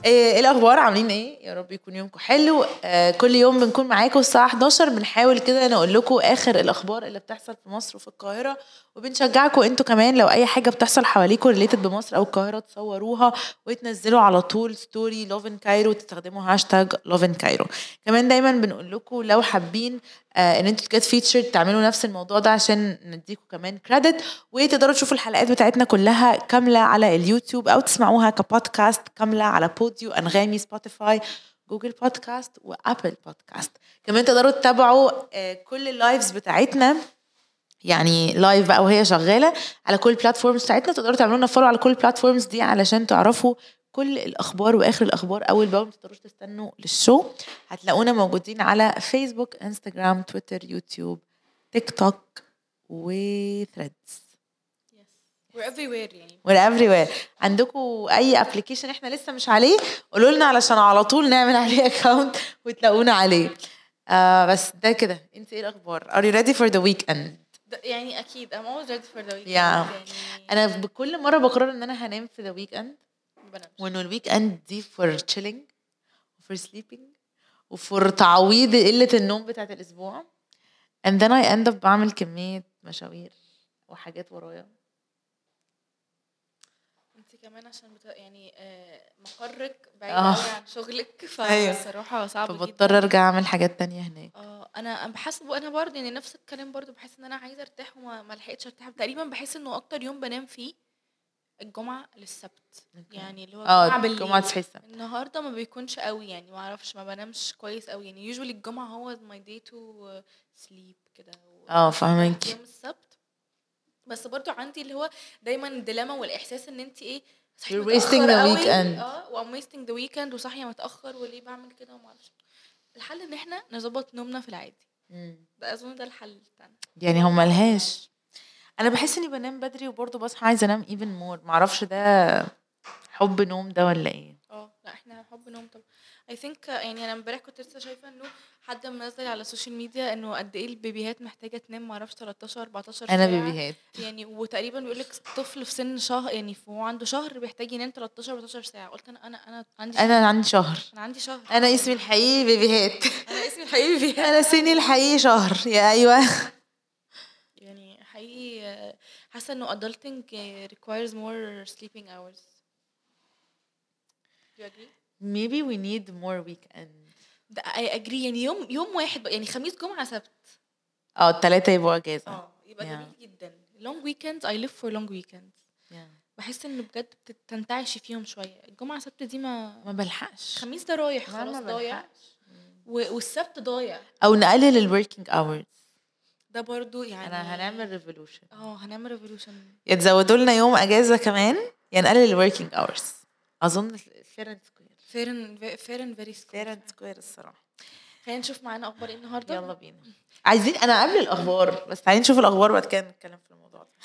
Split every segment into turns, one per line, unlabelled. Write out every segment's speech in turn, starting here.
ايه الاخبار؟ عاملين ايه؟ يا رب يكون يومكم حلو. كل يوم بنكون معاكم الساعه 11 بنحاول كده نقول لكم اخر الاخبار اللي بتحصل في مصر وفي القاهره، وبنشجعكم انتوا كمان لو اي حاجه بتحصل حواليكم ريليتد بمصر او القاهره تصوروها وتنزلوا على طول ستوري لوفن كايرو، تستخدموا هاشتاج لوفن كايرو. كمان دايما بنقول لكم لو حابين ان انتوا تجت فيتشر تعملوا نفس الموضوع ده عشان نديكم كمان كريدت، وتقدروا تشوفوا الحلقات بتاعتنا كلها كامله على اليوتيوب او تسمعوها كبودكاست كامله على بوديو، انغامي، سبوتيفاي، جوجل بودكاست وابل بودكاست. كمان تقدروا تتابعوا كل اللايفز بتاعتنا، يعني لايف بقى وهي شغاله على كل البلاتفورمز بتاعتنا. تقدروا تعملوا لنا فولو على كل البلاتفورمز دي علشان تعرفوا كل الاخبار واخر الاخبار اول باول. ما تقدروش تستنوا للشو. هتلاقونا موجودين على فيسبوك، انستغرام، تويتر، يوتيوب، تيك توك وثريدز.
we're everywhere يعني
we're everywhere. عندكم اي ابلكيشن احنا لسه مش عليه قولوا لنا علشان على طول نعمل عليه اكاونت وتلاقونا عليه. بس ده كده. انت ايه الاخبار؟ are you ready for the weekend؟
يعني اكيد I'm always ready for the weekend.
يعني انا
يعني
بكل مره بقرر ان انا هنام في the weekend،
بنامش.
وانه الويك اند دي for chilling for sleeping وفور تعويض قله النوم بتاعت الاسبوع. and then I end up بعمل كميه مشاوير وحاجات ورايا.
انت كمان عشان يعني مقرك بعيد قوي عن شغلك، فالصراحه صعب جدا،
فبضطر ارجع اعمل حاجات تانية هناك.
انا بحس انا برضه يعني نفس الكلام، برضه بحس ان انا عايزه ارتاح وما لحقتش ارتاح تقريبا. بحس انه اكتر يوم بنام فيه الجمعه للسبت، يعني اللي هو الجمعه بالليل.
الجمعه تصحي السبت.
النهارده ما بيكونش قوي، يعني ما اعرفش، ما بنامش كويس قوي. يعني usually الجمعه هو my day to sleep كده.
فاهمك.
يوم السبت بس برضو عندي اللي هو دايما الديلاما والاحساس ان انت ايه
you're wasting the weekend.
وام wasting the weekend وصاحيه متاخر، وليه بعمل كده وما اعرفش. الحل ان احنا نظبط نومنا في العادي. ده اظن ده الحل بتاعنا.
يعني هم ملهاش. انا بحس اني بنام بدري وبرضه بصحى عايزه انام even more. معرفش ده حب نوم ده ولا ايه.
لا احنا حب نوم طبعا. I think يعني انا امبارح كنت لسه شايفه انه حد منزل على السوشيال ميديا انه قد ايه البيبيهات محتاجه تنام، معرفش 13 14 ساعه.
انا بيبيهات
يعني وتقريبا بيقول لك طفل في سن شهر، يعني هو عنده شهر بيحتاج ينام 13 14 ساعه. قلت انا عندي شهر.
انا عندي شهر. انا اسمي الحقيقي بيبيهات.
انا اسمي الحقيقي بيبيهات.
انا سني الحقيقي شهر. يا ايوه
يعني حقيقي حاسه انه adulting requires more sleeping hours. Do you agree?
Maybe we need more weekend.
I agree. يعني يوم واحد يعني خميس جمعة سبت.
3 يبقوا اجازة.
يبقى جميل جدا. long weekends I live for long weekends. بحس انه بجد بتنتعشي فيهم شوية. الجمعة سبت دي ما
بلحقش.
خميس ده رايح خلاص ضايع. والسبت ضايع.
او نقلل الوركينج اورز
ده برضو يعني
انا هنعمل ريفولوشن.
هنعمل ريفولوشن.
يتزودوا لنا يوم اجازة كمان، نقلل الوركينج اورز. اظن
فيرن فيري
سكوير الصراحه.
خلينا نشوف معانا اخبار ايه النهارده.
يلا بينا. عايزين انا قبل الاخبار بس تعالي نشوف الاخبار بعد كده نتكلم في الموضوع ده.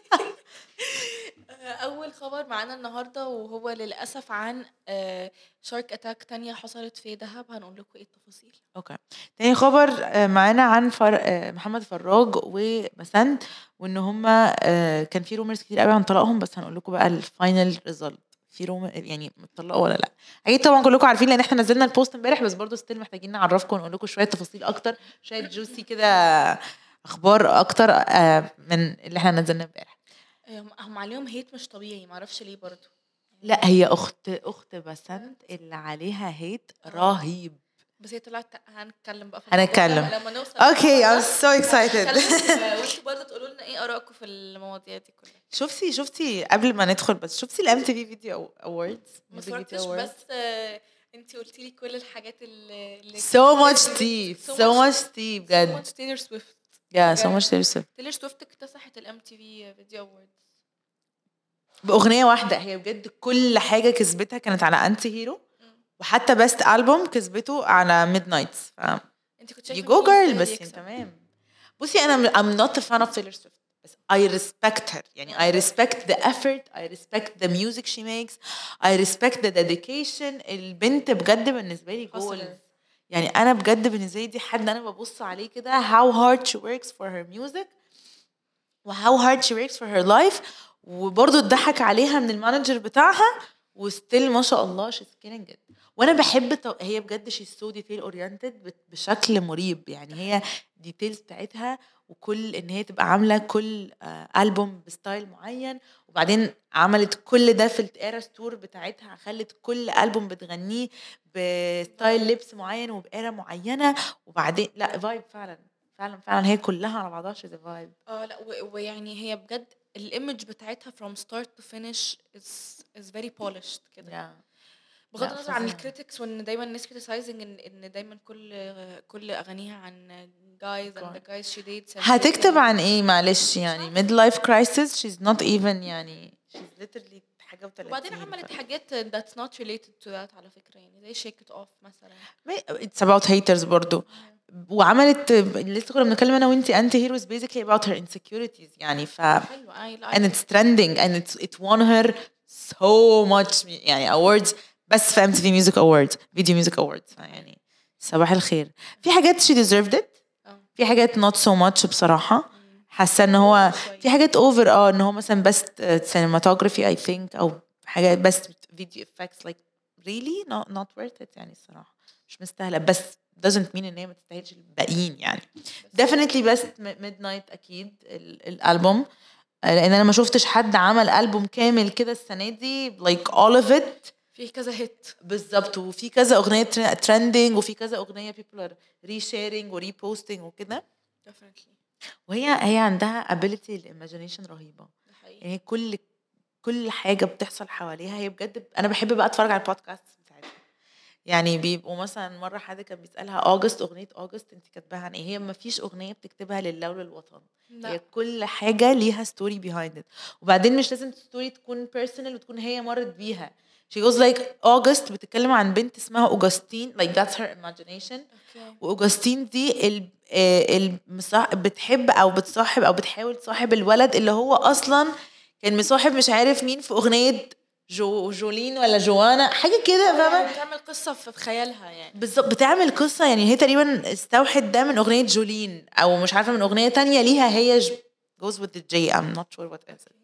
اول خبر معانا النهارده وهو للاسف عن شارك اتاك تانية حصلت في دهب. هنقول لكم ايه التفاصيل.
اوكي. تاني خبر معانا عن محمد فراج وبسنت، وان هما كان في رومرز كتير قوي عن طلاقهم، بس هنقول لكم بقى الفاينل ريزلت. في روم يعني متطلقوا ولا لا. اكيد طبعا كلكم عارفين لان احنا نزلنا البوست امبارح، بس برضو ستيل محتاجين نعرفكم ونقول لكم شويه تفاصيل اكتر، شويه جوسي كده اخبار اكتر من اللي احنا نزلنا امبارح.
هم عليهم هيت مش طبيعي، ما اعرفش ليه برضو.
لا هي اخت بسنت اللي عليها هيت رهيب.
بس هي طلعت هنتكلم بقى
لما
نوصل.
اوكي I'm so excited.
وانتوا برضه تقولوا لنا ايه آرائكم في المواضيع دي كلها.
شفتي قبل ما ندخل بس شفتي الام تي في فيديو اووردز؟
ما اتفرجتش بس انتي قلتي لي كل الحاجات اللي
so much tea بجد.
تايلور سويفت.
so much
تايلور سويفت اكتسحت الام تي في فيديو اووردز
باغنيه واحده. هي بجد كل حاجه كسبتها كانت على انتي هيرو، وحتى بست ألبوم كسبته على ميد نايتس.
انت كنت شايفه
you go girl بس تمام. بصي انا I'm not a fan of Taylor Swift بس I respect her. يعني I respect the effort, I respect the music she makes, I respect the dedication. البنت بجد بالنسبه لي جول. يعني انا بجد بالنسبه لي دي حد انا ببص عليه كده how hard she works for her music و how hard she works for her life. وبرضه اتضحك عليها من المانجر بتاعها وستيل ما شاء الله she's killing it. وانا بحب هي بجد she's so detail oriented بشكل مريب. يعني هي ديتيلز بتاعتها، وكل ان هي تبقى عامله كل ألبوم بستايل معين، وبعدين عملت كل ده في الايرا ستور بتاعتها، خلت كل ألبوم بتغنيه بستايل لبس معين وبإيرا معينه، وبعدين لا فايب فعلا فعلا فعلا. هي كلها على بعضها she's a vibe.
لا ويعني هي بجد الايمج بتاعتها from start to finish is very polished كده. بغض النظر عن الكريتكس، وان دايما الناس criticizing ان دايما كل اغانيها عن guys and the guys she dates.
هتكتب عن ايه معلش؟ يعني midlife crisis she's not even يعني she's literally حاجه و30.
وبعدين عملت حاجات that's not related to that على فكره، يعني زي shake it off مثلا.
it's about haters برضو. وعملت لسه كنا بنتكلم انا وانتي anti heroes basically about her insecurities يعني and it's trending and it won her so much يعني awards بس في MTV Music Awards Video Music Awards. يعني صباح الخير. في حاجات she deserved it، في حاجات not so much بصراحة. حاسة ان هو في حاجات over ان هو مثلا best cinematography I think، او حاجات best video effects like really not worth it يعني الصراحة مش مستاهلة. بس doesn't mean ان هي ما تستاهلش الباقيين يعني. definitely best midnight اكيد الالبوم، لان انا ما شفتش حد عمل ألبوم كامل كده السنة دي like all of it.
في كذا هيت
بالظبط، وفي كذا اغنيه ترندنج، وفي كذا اغنيه people are resharing و reposting وكده.
definitely.
وهي عندها ability للإيماجينيشن رهيبه. يعني كل حاجه بتحصل حواليها هي بجد. انا بحب بقى اتفرج على البودكاست بتاعتها. يعني بيبقوا مثلا مره حد كان بيسالها اغنيه اوجست انت كاتباها عن ايه؟ هي ما فيش اغنيه بتكتبها لله وللوطن. هي كل حاجه ليها ستوري behind it. وبعدين مش لازم ستوري تكون بيرسونال وتكون هي مرت بيها. she goes like August بتتكلم عن بنت اسمها أوغسطين like that's her imagination. وأوغسطين دي بتحب او بتصاحب او بتحاول تصاحب الولد اللي هو اصلا كان مصاحب مش عارف مين في اغنيه جولين ولا جوانا حاجه كده، فاهمه؟
بتعمل قصه في خيالها يعني.
بالظبط بتعمل قصه. يعني هي تقريبا استوحت ده من اغنيه جولين، او مش عارفه من اغنيه تانية ليها هي goes with the J I'm not sure what is it.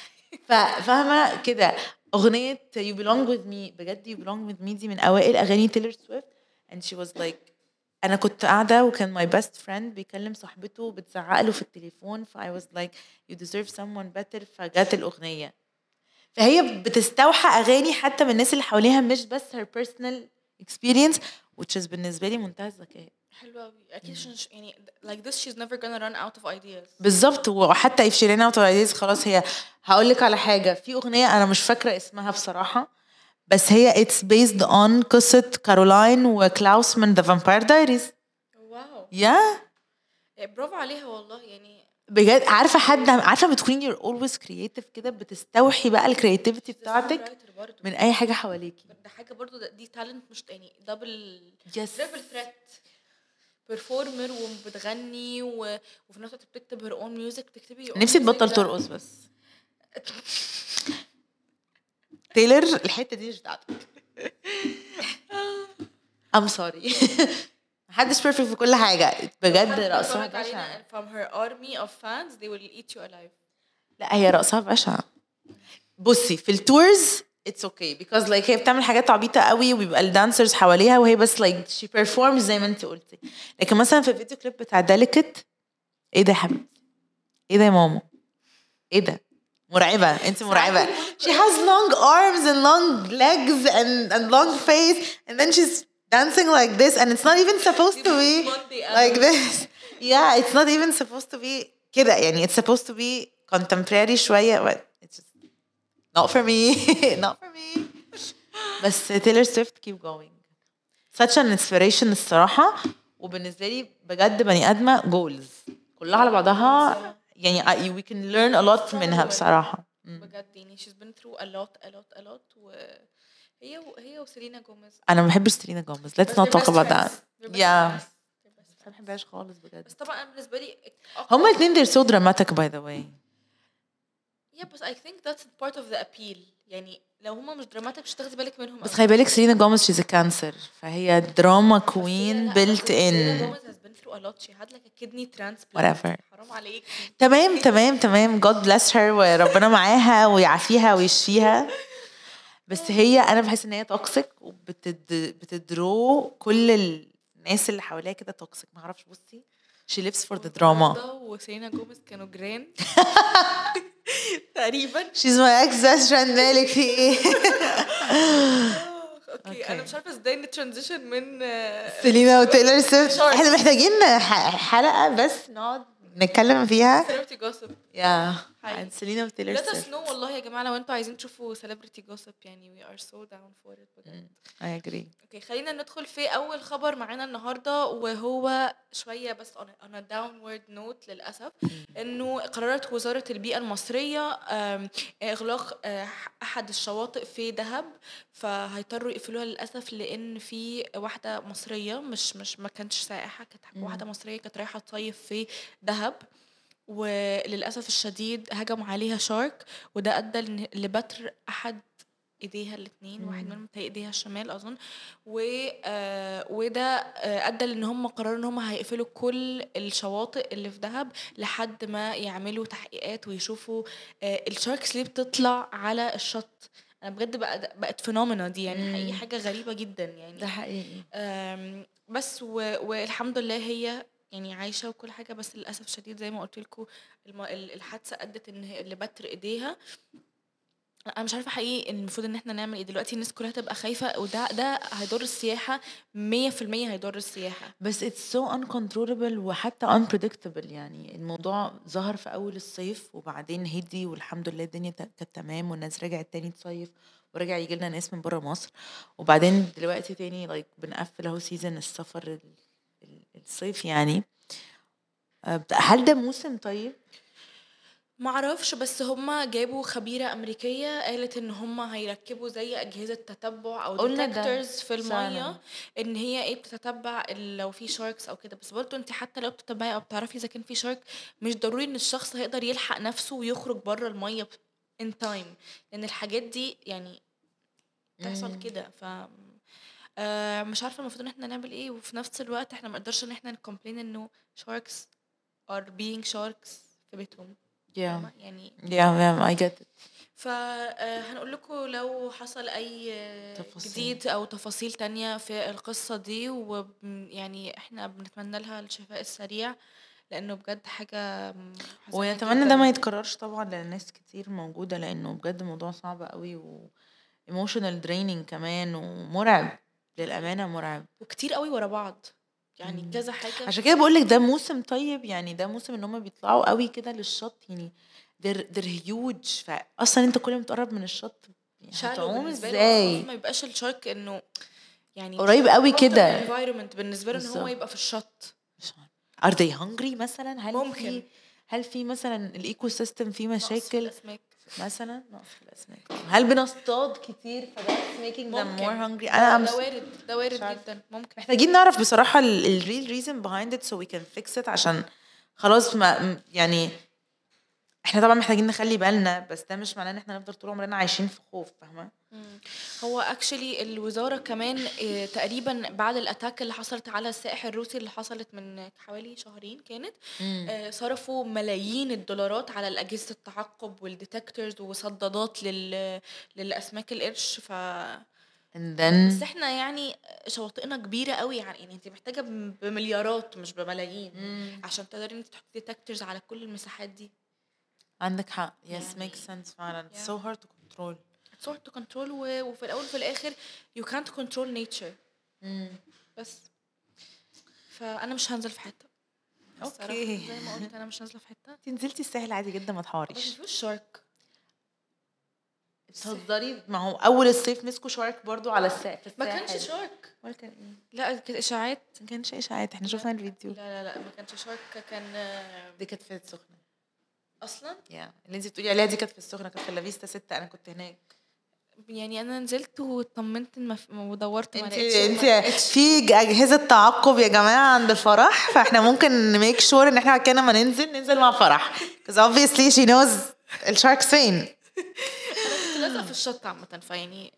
فاهمه كده. اغنيه you belong with me بجد you belong with me دي من اوائل اغاني تيلر سويفت. and she was like انا كنت قاعده وكان my best friend بيكلم صاحبته بتزعق له في التليفون ف I was like you deserve someone better. فجات الاغنيه. فهي بتستوحى اغاني حتى من الناس اللي حواليها مش بس her personal experience which is بالنسبه لي منتهى الذكاء.
حلوه قوي اكيد. يعني like this she's never gonna run out of ideas.
بالظبط. وحتى if she ran out of ideas خلاص. هي هقول لك على حاجه، في اغنيه انا مش فاكره اسمها بصراحه، بس هي it's based on قصه كارولاين وكلاوس من The Vampire Diaries.
واو
يا
برافو عليها والله. يعني
بجد عارفه بتكوني you're always creative كده، بتستوحي بقى الكرياتيفيتي بتاعتك من اي حاجه حواليكي.
ده حاجه برضو دي تالنت مش يعني دبل
تريبل
ثريت بيرفورمر وبتغني وفي نفس الوقت بتكتب her own music. بتكتبي
نفسي تبطل ترقص بس. تايلر الحته دي مش بتاعتك. I'm sorry. محدش perfect في كل حاجه بجد. رقصها بشعه.
from her army of fans they will eat you alive.
لا هي رقصها بشعه. بصي في التورز it's okay because like هي بتعمل حاجات عبيطه قوي وبيبقى الدانسرز حواليها وهي بس like she performs زي ما انت قلتي. لكن مثلا في الفيديو كليب بتاع ديليكت ايه ده يا حبيبتي؟ ايه ده يا ماما؟ ايه ده؟ مرعبه. انت مرعبه. she has long arms and long legs and long face and then she's dancing like this and it's not even supposed to be like this. Yeah, it's not even supposed to be كده. يعني it's supposed to be contemporary شويه but it's just not for me. not for me. بس Taylor Swift keep going. such an inspiration الصراحة. وبالنسبة لي بجد بني آدمة goals كلها على بعضها. يعني we can learn a lot منها بصراحة.
بجد يعني she's been through a lot وهي وسيلينا جوميز.
أنا ما بحبش سيلينا جوميز. let's not talk about that. yeah. ما بحبهاش خالص بجد.
بس طبعا أنا بالنسبة لي
هما الاثنين they're so dramatic by the way.
yeah but I think that's part of the appeal. يعني لو هما مش دراماتيك مش تاخدي بالك منهم.
بس خلي بالك سيلينا جوميز she's a cancer فهي دراما كوين built in.
سيلينا جوميز has been through a lot. she had like a kidney transplant.
whatever.
حرام عليك.
تمام God bless her وربنا معاها ويعافيها ويشفيها. بس هي انا بحس ان هي توكسيك وبتدرو كل الناس اللي حواليها كده توكسيك. ما اعرفش، بصي she lives for the drama.
وسيلينا جوميز كانوا جيران تقريبا.
she's my ex best friend. مالك في ايه؟
اوكي انا مش عارفه ازاي نترانزيشن من
سيلينا وتايلر سويفت. احنا محتاجين حلقه بس نقعد نتكلم فيها
celebrity gossip
عن سيلينا وتايلر
let us
سويفت.
know والله يا جماعه لو انتوا عايزين تشوفوا celebrity gossip يعني we are so down for it بجد.
I agree.
اوكي خلينا ندخل في اول خبر معانا النهارده، وهو شويه بس on a downward note للاسف. انه قررت وزاره البيئه المصريه اغلاق احد الشواطئ في دهب، فهيضطروا يقفلوها للاسف لان في واحده مصريه مش ما كانتش سائحه، كانت واحده مصريه كانت رايحه تصيف في دهب، وللاسف الشديد هجم عليها شارك، وده ادى لبتر احد ايديها الاثنين، واحد منهم في ايديها الشمال اظن، وده ادى لان هم قرروا ان هم هيقفلوا كل الشواطئ اللي في دهب لحد ما يعملوا تحقيقات ويشوفوا الشاركس ليه بتطلع على الشط. انا بجد بقت فينومينا دي يعني حقيقي حاجه غريبه جدا يعني.
ده حقيقي.
بس والحمد لله هي يعني عايشه وكل حاجه، بس للاسف الشديد زي ما قلت لكم الحادثه ادت ان اللي بتر ايديها. انا مش عارفه حقيقي المفروض ان احنا نعمل ايه دلوقتي. الناس كلها تبقى خايفه، وده هيضر السياحه 100%، هيضر السياحه.
بس it's so uncontrollable وحتى unpredictable. يعني الموضوع ظهر في اول الصيف وبعدين هدي والحمد لله الدنيا كانت تمام والناس رجعت تاني تصيف ورجع يجي لنا ناس من بره مصر، وبعدين دلوقتي تاني بنقفل اهو سيزن السفر الصيف يعني. هل ده موسم طيب؟
ما اعرفش، بس هما جابوا خبيرة أمريكية قالت ان هما هيركبوا زي أجهزة تتبع او ديتكتورز في المية، ان هي ايه بتتبع لو في شاركس او كده. بس برضو انت حتى لو بتتبعي او بتعرفي اذا كان في شارك، مش ضروري ان الشخص هيقدر يلحق نفسه ويخرج بره المية in time، لان الحاجات دي يعني تحصل كده. ف مش عارفة المفروض ان احنا نعمل ايه، وفي نفس الوقت احنا ما نقدرش ان احنا نكومبلين انه sharks are being sharks في بيتهم يعني.
I get it.
فهنقول لكم لو حصل اي جديد او تفاصيل تانية في القصة دي، ويعني احنا بنتمنى لها الشفاء السريع لانه بجد حاجة
ونتمنى ده ما يتكررش طبعا للناس كتير موجودة، لانه بجد موضوع صعب قوي و emotional draining كمان ومرعب للأمانة، مرعب
وكتير قوي ورا بعض يعني كذا حاجة.
عشان كده بقولك ده موسم طيب يعني، ده موسم ان هم بيطلعوا قوي كده للشط يعني they're huge. فاصلا انت كل ما تقرب من الشط هتعوم ازاي؟
ما يبقاش الشارك انه يعني
قريب قوي كده
environment بالنسبه له ان هو يبقى في الشط.
are they hungry مثلا؟
ممكن
هل في مثلا الايكو سيستم فيه مشاكل مثلا؟ نقص في الاسماك. هل بنصطاد كتير فده making them more hungry؟
ده وارد جدا. ممكن
محتاجين نعرف بصراحة ال real reason behind it so we can fix it، عشان خلاص ما يعني احنا طبعا محتاجين نخلي بالنا، بس ده مش معناه ان احنا نفضل طول عمرنا عايشين في خوف، فاهمة؟
هو actually الوزارة كمان تقريبا بعد الاتاك اللي حصلت على السائح الروسي اللي حصلت من حوالي شهرين كانت صرفوا ملايين الدولارات على الأجهزة التعقب والديتكتورز وصدادات للأسماك القرش. بس احنا يعني شواطئنا كبيرة قوي يعني انت محتاجة بمليارات مش بملايين عشان تقدري انت تحطي ديتكتورز على كل المساحات دي.
عندك حق. yes makes sense فعلا. so hard to control.
it's hard to control وفي الأول وفي الآخر you can't control nature. بس فأنا مش هنزل في حتة.
اوكي
زي ما قلت أنا مش نازلة في حتة.
تنزلتي الساحل عادي جدا ما تحوريش.
بس مش شارك
تهزري؟ ما هو اول الصيف مسكوا شارك برضو على الساحل.
ما كانش شارك
ولا كان ايه؟
لا كانت اشاعات.
ما كانش اشاعات، احنا شفنا الفيديو.
لا ما كانش شارك. كان
دي كانت في السخنة
اصلا
اللي انت بتقولي عليها دي كانت في السخنة، كانت في لافيستا 6. انا كنت هناك
يعني انا نزلت وطمنت ودورت ما
لقيتش. انت في اجهزه تعقب يا جماعه عند الفرح، فاحنا ممكن نميك شور ان احنا كنا ما ننزل مع فرح because obviously she knows الشاركس فين.
انا كنت لازقه في الشط عامه، فيعني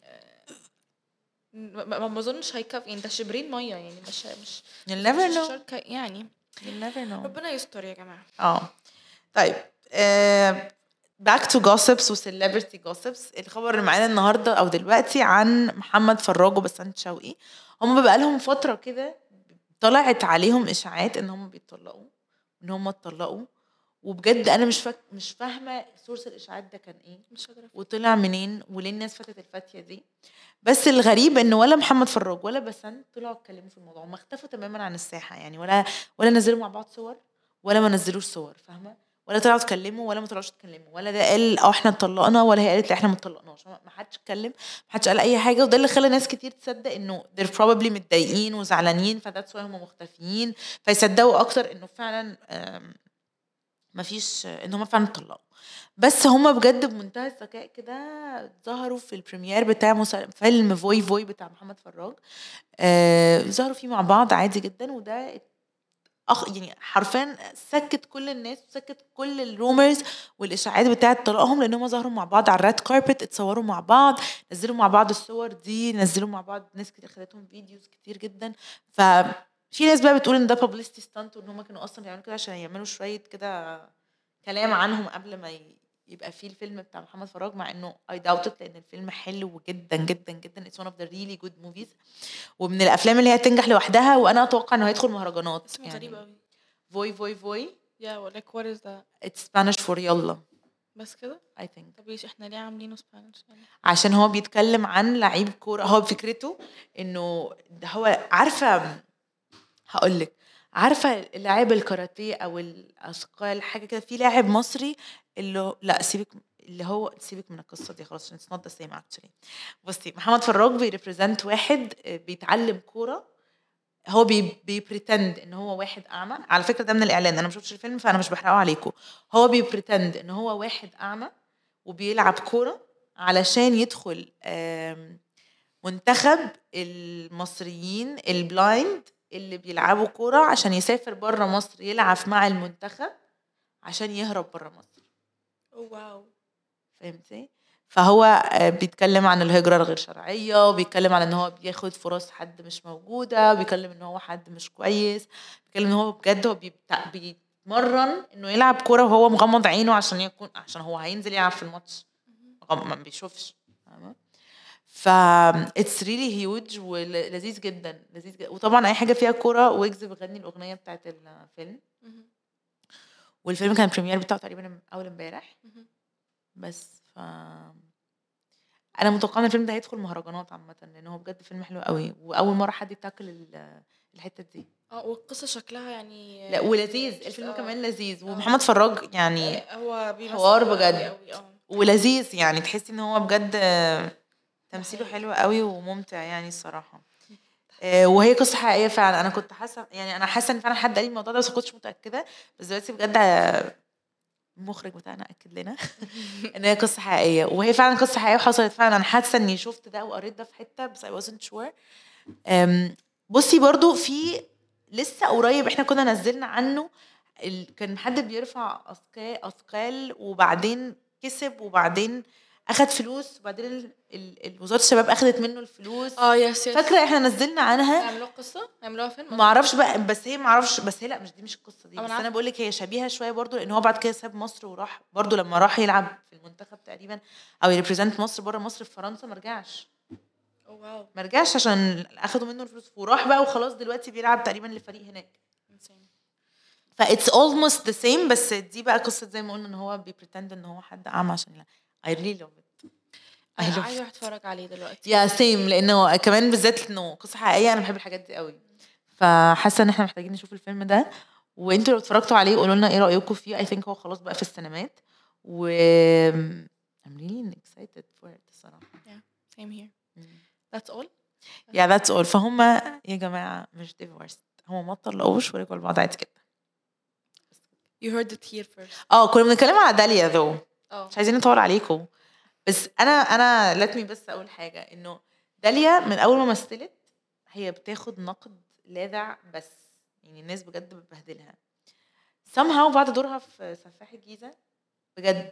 ما اظنش هيكف يعني ده شبرين ميه يعني مش
you'll never know
يعني
you'll never know.
ربنا يستر يا جماعه.
طيب back to gossips و celebrity gossips. الخبر اللي معانا النهارده او دلوقتي عن محمد فراج وبسنت شوقي. هم بقى لهم فتره كده طلعت عليهم اشاعات ان هم بيتطلقوا، ان هم اتطلقوا، وبجد انا مش فاهمه سورس الاشاعات ده كان ايه،
مش قادرة
وطلع منين، وليه الناس فتت الفتيه دي. بس الغريب ان ولا محمد فراج ولا بسنت طلعوا اتكلموا في الموضوع، ما اختفوا تماما عن الساحه يعني، ولا نزلوا مع بعض صور، ولا ما نزلوش صور، فاهمه؟ ولا طلعوا اتكلموا ولا ما طلعوش اتكلموا، ولا ده قال احنا اتطلقنا ولا هي قالت لا احنا ما اتطلقناش. ما حدش اتكلم، ما حدش قال اي حاجه، وده اللي خلى ناس كتير تصدق انه they're probably متضايقين وزعلانين فذاتس واي هم مختفيين، فيصدقوا اكتر انه فعلا ما فيش، ان هم فعلا اتطلقوا. بس هم بجد بمنتهى الذكاء كده ظهروا في البريمير بتاع فيلم فوي فوي بتاع محمد فراج. ظهروا فيه مع بعض عادي جدا، وده يعني حرفيا سكت كل الناس وسكت كل الرومرز والاشاعات بتاعه طلاقهم، لان هم ظهروا مع بعض على الريد كاربت، اتصوروا مع بعض، نزلوا مع بعض الصور دي، نزلوا مع بعض، ناس كتير خدتهم فيديوز كتير جدا. في ناس بقى بتقول ان ده بابليستي ستانت، وان هم كانوا اصلا بيعملوا كده عشان يعملوا شويه كده كلام عنهم قبل ما يبقى فيه الفيلم بتاع محمد فراج، مع انه I doubt it لان الفيلم حلو جدا جدا جدا. It's one of the really good movies، ومن الافلام اللي هي تنجح لوحدها، وانا اتوقع انه هيدخل مهرجانات.
اسمه يعني غريب قوي.
فوي فوي فوي.
Yeah, like what is that?
It's Spanish for يلا.
بس كده
I think.
طب ايش احنا ليه عاملينه سبانيش يعني؟
عشان هو بيتكلم عن لعيب كوره، هو فكرته انه هو عارفه، هقولك، عارفه لاعب الكاراتيه او الاثقال حاجه كده، في لاعب مصري اللي لا سيبك، اللي هو سيبك من القصه دي خلاص، it's not the same actually. بصي محمد فراج بيريبريزنت واحد بيتعلم كوره، هو بيبريتند ان هو واحد اعمى. على فكره ده من الاعلان، انا ما شفتش الفيلم فانا مش بحرقه عليكم. هو بيبريتند ان هو واحد اعمى وبيلعب كوره علشان يدخل منتخب المصريين البلايند اللي بيلعبوا كوره، عشان يسافر بره مصر يلعب مع المنتخب عشان يهرب بره مصر.
واو،
فهمتي؟ فهو بيتكلم عن الهجرة الغير شرعية، وبيتكلم عن ان هو بياخد فرص حد مش موجودة، وبيتكلم ان هو حد مش كويس، بيتكلم ان هو بجد هو بيتمرن انه يلعب كورة وهو مغمض عينه عشان هو هينزل يلعب في الماتش ما بيشوفش. ف it's really huge ولذيذ جدا، لذيذ جدا. وطبعا اي حاجة فيها كورة، ويجز بيغني الاغنية بتاعت الفيلم، والفيلم كان البريمير بتاعه تقريبا اول امبارح بس. انا متوقعه ان الفيلم ده هيدخل مهرجانات عامه، لان هو بجد فيلم حلو قوي، واول مره حد يتاكل الحته دي.
والقصه شكلها يعني
لا ولذيذ الفيلم كمان لذيذ، ومحمد فراج يعني
هو بيمثل
حوار بجد
قوي
ولذيذ، يعني تحسي ان هو بجد تمثيله حلو قوي وممتع يعني الصراحه. وهي قصه حقيقيه فعلا. انا كنت حاسه يعني، انا حاسه ان فعلا حد قال لي الموضوع ده بس ما كنتش متاكده، بس دلوقتي بجد المخرج بتاعنا اكد لنا ان هي قصه حقيقيه، وهي فعلا قصه حقيقيه وحصلت فعلا. انا حاسه اني شفت ده وقريت ده في حته بس I wasn't sure. بصي برضو في لسه قريب احنا كنا نزلنا عنه، كان حد بيرفع اثقال وبعدين كسب وبعدين اخد فلوس، وبعدين وزاره الشباب اخدت منه الفلوس.
يس
فاكره احنا نزلنا عنها،
عملوها قصه، عملوها فيلم،
ما اعرفش بقى، بس هي ما اعرفش، بس هي لا مش دي مش القصه دي، بس
عارفة.
انا بقول لك هي شبيهه شويه برضو، لان هو بعد كده ساب مصر وراح برضو، لما راح يلعب في المنتخب تقريبا او يريبريزنت مصر بره مصر في فرنسا ما رجعش.
واو،
ما رجعش عشان اخدوا منه الفلوس، وراح بقى وخلاص دلوقتي بيلعب تقريبا لفريق هناك. ف it's almost the same، بس دي بقى قصه زي ما قلنا ان هو بيبريتند ان هو حد اعمى عشان لا. I really love it.
انا عايزه اتفرج عليه دلوقتي.
يا سيم، لانه كمان بالذات انه قصه حقيقيه، انا بحب الحاجات دي قوي، فحاسه ان احنا محتاجين نشوف الفيلم ده. وانتوا لو اتفرجتوا عليه قولوا لنا ايه رايكم فيه. I think هو خلاص بقى في السينمات، و I'm really excited for it الصراحه.
Yeah, same here. That's all.
Yeah, that's all. فهم يا جماعه مش divorced، هم ما طلقوش ورجعوا لبعض عادي كده.
You heard it here first.
كنا بنتكلم على داليا ذو،
مش
عايزين نطول عليكم، بس انا let me بس اقول حاجه، انه داليا من اول ما مثلت هي بتاخد نقد لاذع، بس يعني الناس بجد بتبهدلها somehow بعد دورها في سفاح الجيزه. بجد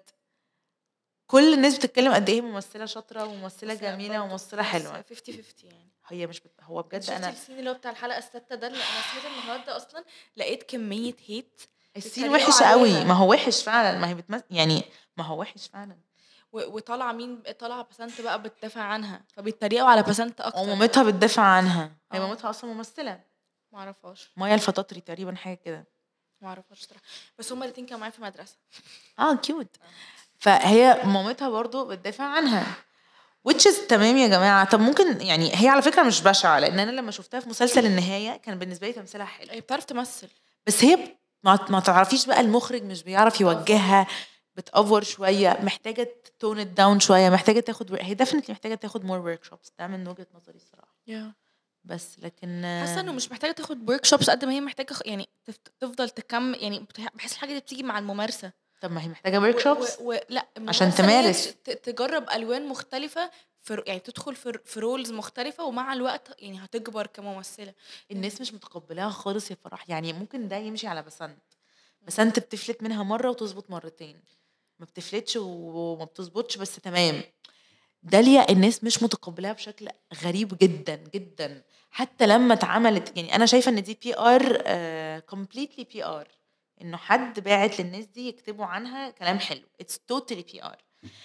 كل الناس بتتكلم قد ايه ممثله شاطره وممثله جميله وممثله حلوه.
50-50 يعني.
هي مش هو بجد
انا السين اللي هو بتاع الحلقه السادسه ده اللي انا سمعت النهارده اصلا، لقيت كميه هيت
السين وحش قوي. ما هو وحش فعلا، ما هي يعني ما هو وحش فعلا.
وطالعه مين طالعه بسنت بقى بتدافع عنها، فبيتريقوا على بسنت اكتر.
ومامتها بتدافع عنها. هي مامتها اصلا ممثله،
ما اعرفهاش،
مايا الفطاطري تقريبا، حاجه كده.
ما اعرفهاش صراحه، بس هما الاثنين كانوا معايا في المدرسه.
كيوت. فهي مامتها برضو بتدافع عنها which is تمام يا جماعه. طب ممكن يعني هي على فكره مش بشعه، لان انا لما شفتها في مسلسل النهايه كان بالنسبه لي تمثيلها حلو.
هي بتعرف تمثل،
بس هي ما تعرفيش بقى، المخرج مش بيعرف يوجهها، بتأفور شويه، محتاجه تون ات داون شويه، محتاجه تاخد، هي ديفينتلي محتاجه تاخد مور ورك شوبس. ده من وجهه نظري الصراحه. بس لكن
حاسه انه مش محتاجه تاخد ورك شوبس قد ما هي محتاجه يعني تفضل تكمل. يعني بحس الحاجه دي بتيجي مع الممارسه.
طب ما هي محتاجه ورك شوبس
لا
عشان تمارس،
تجرب الوان مختلفه، يعني تدخل في رولز مختلفه، ومع الوقت يعني هتكبر كممثله.
الناس مش متقبلاها خالص يا فرح. يعني ممكن ده يمشي على بسنت بتفلت منها مره وتظبط مرتين، ما بتفلتش وما بتظبطش بس تمام. داليا الناس مش متقبلاها بشكل غريب جدا جدا. حتى لما اتعملت، يعني انا شايفه ان دي بي ار، كومبليتلي بي ار، انه حد باعت للناس دي يكتبوا عنها كلام حلو. اتس توتالي بي ار.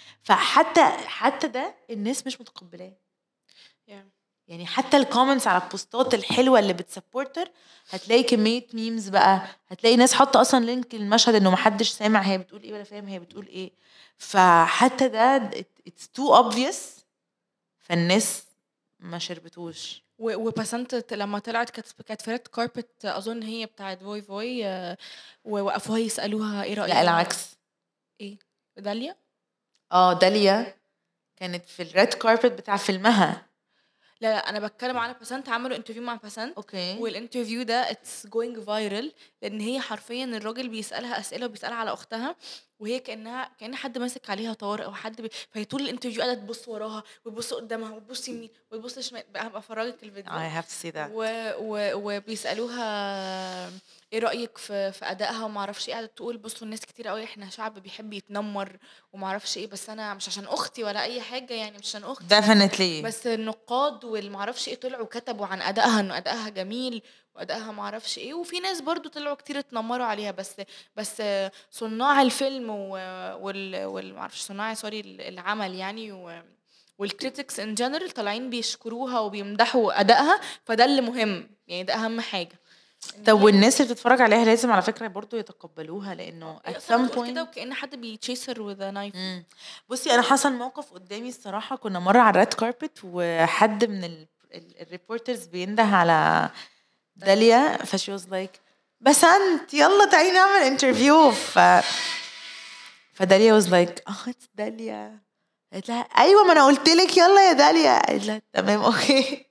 فحتى ده الناس مش متقبلاه. يعني حتى الكومنتس على البوستات الحلوه اللي بتسبورتر هتلاقي كميه ميمز بقى، هتلاقي ناس حاطه اصلا لينك المشهد انه محدش سامع هي بتقول ايه ولا فاهم هي بتقول ايه. فحتى ده it's too obvious، فالناس ما شربتوش.
وبسنت لما طلعت كانت في ريد كاربت، اظن هي بتاعت فوي فوي، ووقفوها يسالوها ايه رايك.
لا العكس.
ايه داليا؟
داليا كانت في الريد كاربت بتاع فيلمها.
لا انا بتكلم على بسنت، عملوا انترفيو مع بسنت.
اوكي.
والانترفيو ده اتس جوينج فايرال، لان هي حرفيا الراجل بيسالها اسئله وبيسالها على اختها، وهي كان حد ماسك عليها طار او حد فهي طول الانترفيو قاعده تبص وراها وتبص قدامها وتبص يمين وتبص شمال. هبقى افرجك الفيديو.
I have to see that.
وبيسالوها ايه رايك في ادائها وما اعرفش ايه. قاعده تقول بصوا الناس كتير قوي احنا شعب بيحب يتنمر وما اعرفش ايه، بس انا مش عشان اختي ولا اي حاجه، يعني مش عشان اختي
definitely.
بس النقاد والما اعرفش ايه طلعوا كتبوا عن ادائها انه ادائها جميل وادائها ما اعرفش ايه. وفي ناس برضو طلعوا كتير اتنمروا عليها، بس صناع الفيلم وال ما اعرفش صناع العمل يعني والكريتكس ان جنرال طالعين بيشكروها وبيمدحوا ادائها. فده اللي مهم، يعني ده اهم حاجه.
طب والناس اللي بتتفرج عليها لازم على فكره برضو يتقبلوها، لانه at some point
كده وكأن حد بيتشيسر with a knife.
بصي انا حصل موقف قدامي الصراحه. كنا مره على الريد كاربت وحد من الريبورترز بينده على داليا، فشي واز لايك بسنت يلا تعالي نعمل انترفيو. فداليا واز لايك اتس داليا. قالت لها ايوه ما انا قلت لك يلا يا داليا. قالت لها تمام اوكي.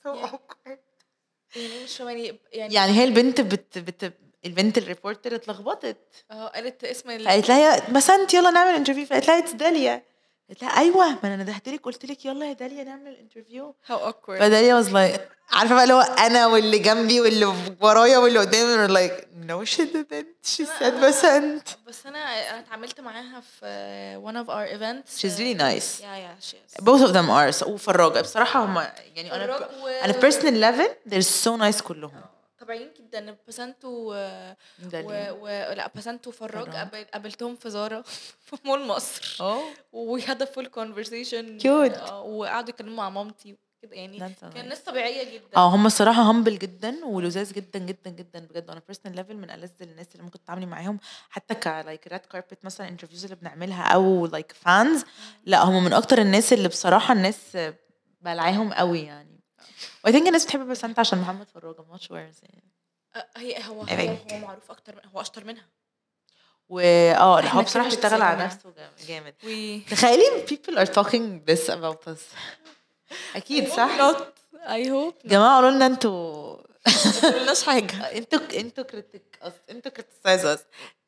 يعني مش
يعني هي البنت البنت الريبورتر اتلخبطت.
قالت اسم
قالت لها بسنت يلا نعمل انترفيو. فقالت لها اتس داليا. قالت لها ايوه ما انا ندهت لك قلت لك يلا يا داليا نعمل انترفيو. فداليا واز لايك عارفه بقى اللي هو انا واللي جنبي واللي ورايا واللي قدامي like no she didn't she said بسنت.
بس انا اتعاملت معاها في one of our events.
she's really nice.
yeah she is.
both of them are. وفراجة بصراحه هم يعني انا personal level they're so nice كلهم
طبيعيين جدا. بسنت لا بسنت وفراج قابلتهم في زارة في مول مصر. we had a full conversation
cute.
وقعدوا يتكلموا مع مامتي كده، يعني كان ناس طبيعيه جدا.
هم الصراحه همبل جدا ولذاذ جدا جدا جدا بجد. انا بيرسونال ليفل من ألذ الناس اللي ممكن تتعاملي معاهم، حتى لايك ريد كاربت مثلا انترفيوز اللي بنعملها او لايك فانز. لا هم من اكتر الناس اللي بصراحه الناس بلعاهم قوي يعني. و I think الناس بتحب بسنت عشان محمد فراج. I'm not sure
يعني هو معروف اكتر هو اشطر منها.
هو بصراحه اشتغل على نفسه جامد. تخيلي people are talking this about us. اكيد صح.
I hope
جماعه قولوا لنا انتوا
ما قلناش حاجه.
انتوا كريتيك انتوا كريتيسايز اس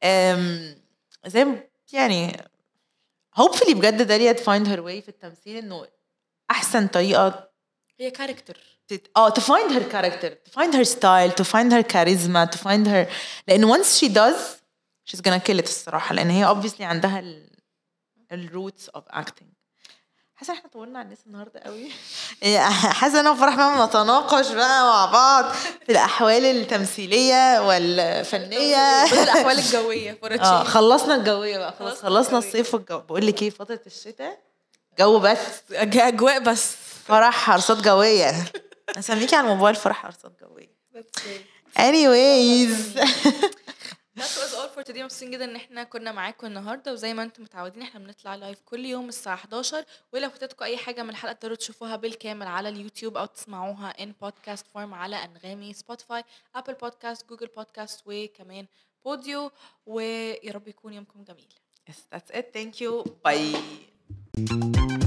زي يعني hopefully بجد داليا find her way في التمثيل، انه احسن طريقه
هي كاركتر
to find her character, to find her style, to find her charisma, to find her. لأن once she does she's gonna kill it الصراحة، لأن هي obviously عندها roots of acting. حاسه احنا طولنا على الناس النهارده قوي. حاسه انا وفرح ما نتناقش بقى مع بعض في الاحوال التمثيليه والفنيه
الاحوال الجويه.
خلصنا الجويه بقى خلاص، خلصنا الصيف والجو. بقول لك ايه، فتره الشتاء جو بس
اجواء بس.
فرح حرصات جويه. اسميكي على الموبايل فرح حرصات جويه. anyways
That was all for today. مبسوطين جدا ان احنا كنا معاكم النهارده، وزي ما انتم متعودين احنا بنطلع لايف كل يوم الساعه 11. ولو فاتتكم اي حاجه من الحلقه تقدروا تشوفوها بالكامل على اليوتيوب او تسمعوها in podcast form على انغامي، سبوتيفاي، ابل بودكاست، جوجل بودكاست، وكمان بوديو. ويا رب يكون يومكم جميل.
Yes, that's it. Thank you. Bye.